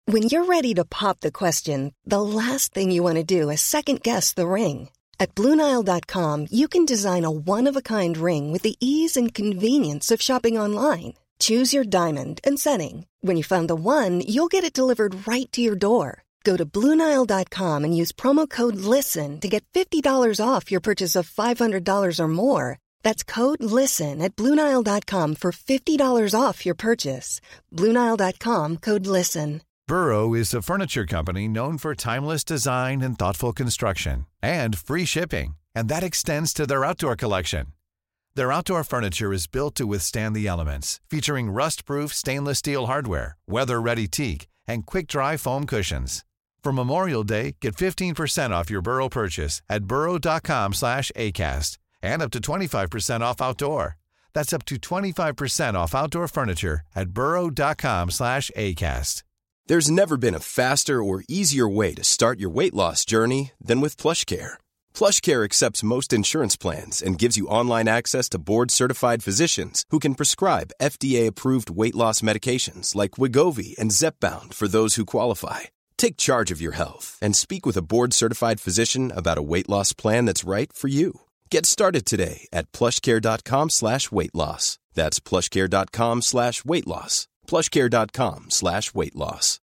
When you're ready to pop the question, the last thing you want to do is second-guess the ring. At BlueNile.com, you can design a one-of-a-kind ring with the ease and convenience of shopping online. Choose your diamond and setting. When you find the one, you'll get it delivered right to your door. Go to BlueNile.com and use promo code LISTEN to get $50 off your purchase of $500 or more. That's code LISTEN at BlueNile.com for $50 off your purchase. BlueNile.com, code LISTEN. Burrow is a furniture company known for timeless design and thoughtful construction, and free shipping, and that extends to their outdoor collection. Their outdoor furniture is built to withstand the elements, featuring rust-proof stainless steel hardware, weather-ready teak, and quick-dry foam cushions. For Memorial Day, get 15% off your Burrow purchase at burrow.com/acast, and up to 25% off outdoor. That's up to 25% off outdoor furniture at burrow.com/acast. There's never been a faster or easier way to start your weight loss journey than with PlushCare. PlushCare accepts most insurance plans and gives you online access to board-certified physicians who can prescribe FDA-approved weight loss medications like Wegovy and Zepbound for those who qualify. Take charge of your health and speak with a board-certified physician about a weight loss plan that's right for you. Get started today at plushcare.com/weightloss. That's plushcare.com/weightloss. plushcare.com/weightloss.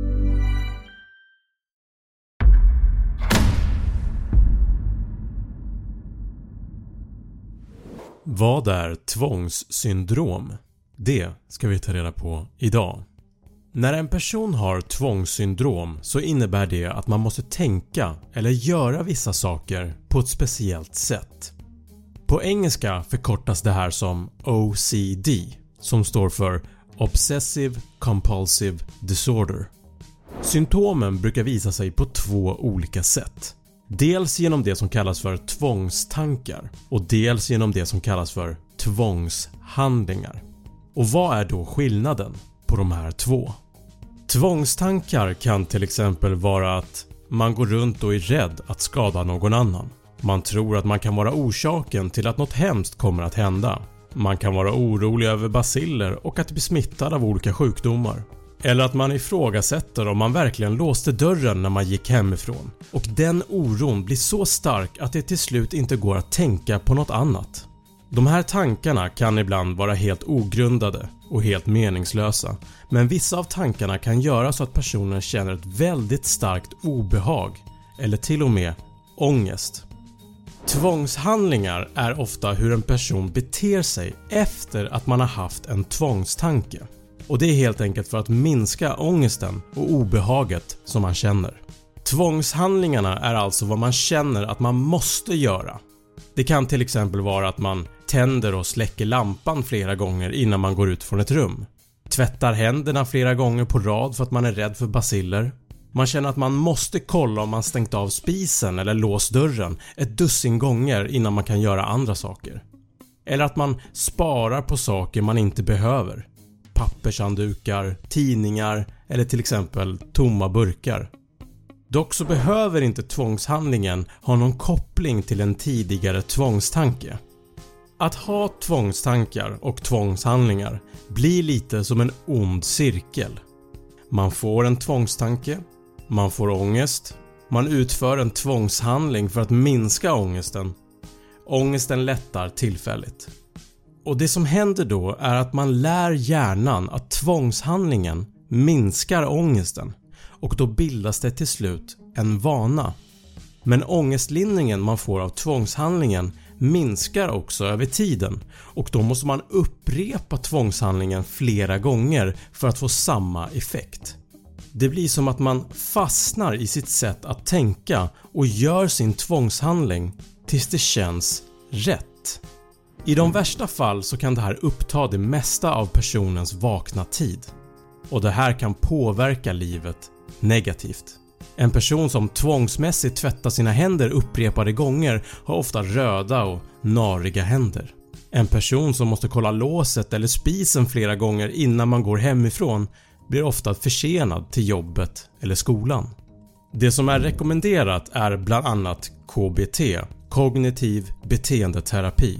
Vad är tvångssyndrom? Det ska vi ta reda på idag. När en person har tvångssyndrom så innebär det att man måste tänka eller göra vissa saker på ett speciellt sätt. På engelska förkortas det här som OCD, som står för Obsessive Compulsive Disorder. Symptomen brukar visa sig på två olika sätt. Dels genom det som kallas för tvångstankar och dels genom det som kallas för tvångshandlingar. Och vad är då skillnaden på de här två? Tvångstankar kan till exempel vara att man går runt och är rädd att skada någon annan. Man tror att man kan vara orsaken till att något hemskt kommer att hända. Man kan vara orolig över baciller och att bli smittad av olika sjukdomar. Eller att man ifrågasätter om man verkligen låste dörren när man gick hemifrån. Och den oron blir så stark att det till slut inte går att tänka på något annat. De här tankarna kan ibland vara helt ogrundade och helt meningslösa. Men vissa av tankarna kan göra så att personen känner ett väldigt starkt obehag eller till och med ångest. Tvångshandlingar är ofta hur en person beter sig efter att man har haft en tvångstanke. Och det är helt enkelt för att minska ångesten och obehaget som man känner. Tvångshandlingarna är alltså vad man känner att man måste göra. Det kan till exempel vara att man tänder och släcker lampan flera gånger innan man går ut från ett rum. Tvättar händerna flera gånger på rad för att man är rädd för baciller. Man känner att man måste kolla om man stängt av spisen eller låst dörren ett dussin gånger innan man kan göra andra saker. Eller att man sparar på saker man inte behöver. Pappershanddukar, tidningar eller till exempel tomma burkar. Dock så behöver inte tvångshandlingen ha någon koppling till en tidigare tvångstanke. Att ha tvångstankar och tvångshandlingar blir lite som en ond cirkel. Man får en tvångstanke, man får ångest, man utför en tvångshandling för att minska ångesten. Ångesten lättar tillfälligt. Och det som händer då är att man lär hjärnan att tvångshandlingen minskar ångesten och då bildas det till slut en vana. Men ångestlindringen man får av tvångshandlingen minskar också över tiden och då måste man upprepa tvångshandlingen flera gånger för att få samma effekt. Det blir som att man fastnar i sitt sätt att tänka och gör sin tvångshandling tills det känns rätt. I de värsta fall så kan det här uppta det mesta av personens vakna tid. Och det här kan påverka livet negativt. En person som tvångsmässigt tvättar sina händer upprepade gånger har ofta röda och nariga händer. En person som måste kolla låset eller spisen flera gånger innan man går hemifrån blir ofta försenad till jobbet eller skolan. Det som är rekommenderat är bland annat KBT, kognitiv beteendeterapi.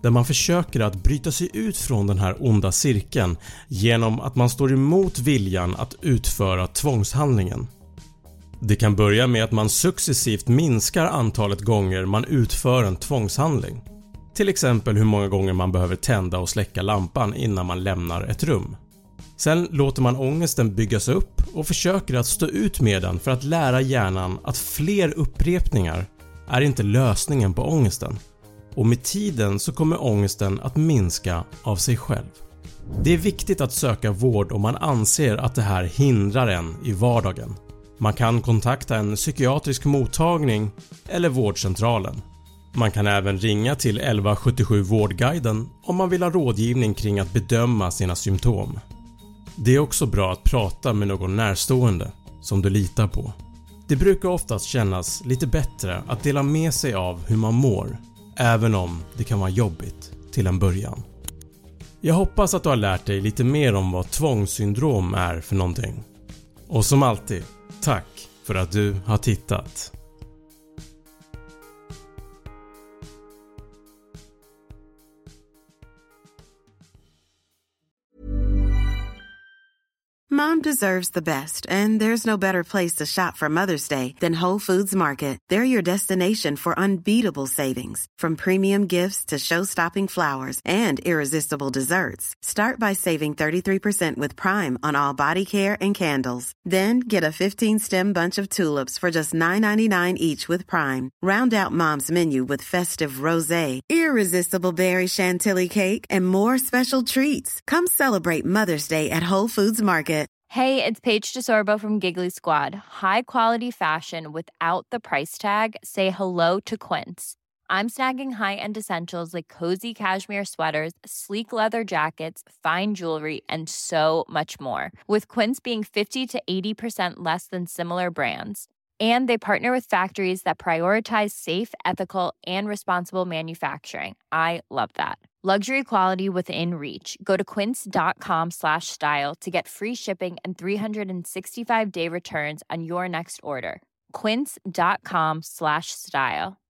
där man försöker att bryta sig ut från den här onda cirkeln genom att man står emot viljan att utföra tvångshandlingen. Det kan börja med att man successivt minskar antalet gånger man utför en tvångshandling. Till exempel hur många gånger man behöver tända och släcka lampan innan man lämnar ett rum. Sen låter man ångesten byggas upp och försöker att stå ut med den för att lära hjärnan att fler upprepningar är inte lösningen på ångesten. Och med tiden så kommer ångesten att minska av sig själv. Det är viktigt att söka vård om man anser att det här hindrar en i vardagen. Man kan kontakta en psykiatrisk mottagning eller vårdcentralen. Man kan även ringa till 1177 Vårdguiden om man vill ha rådgivning kring att bedöma sina symptom. Det är också bra att prata med någon närstående som du litar på. Det brukar oftast kännas lite bättre att dela med sig av hur man mår, även om det kan vara jobbigt till en början. Jag hoppas att du har lärt dig lite mer om vad tvångssyndrom är för någonting. Och som alltid, tack för att du har tittat. Mom deserves the best, and there's no better place to shop for Mother's Day than Whole Foods Market. They're your destination for unbeatable savings, from premium gifts to show-stopping flowers and irresistible desserts. Start by saving 33% with Prime on all body care and candles. Then get a 15-stem bunch of tulips for just $9.99 each with Prime. Round out Mom's menu with festive rosé, irresistible berry chantilly cake, and more special treats. Come celebrate Mother's Day at Whole Foods Market. Hey, it's Paige DeSorbo from Giggly Squad. High quality fashion without the price tag. Say hello to Quince. I'm snagging high-end essentials like cozy cashmere sweaters, sleek leather jackets, fine jewelry, and so much more. With Quince being 50 to 80% less than similar brands. And they partner with factories that prioritize safe, ethical, and responsible manufacturing. I love that. Luxury quality within reach. Go to quince.com/style to get free shipping and 365-day returns on your next order. Quince.com/style.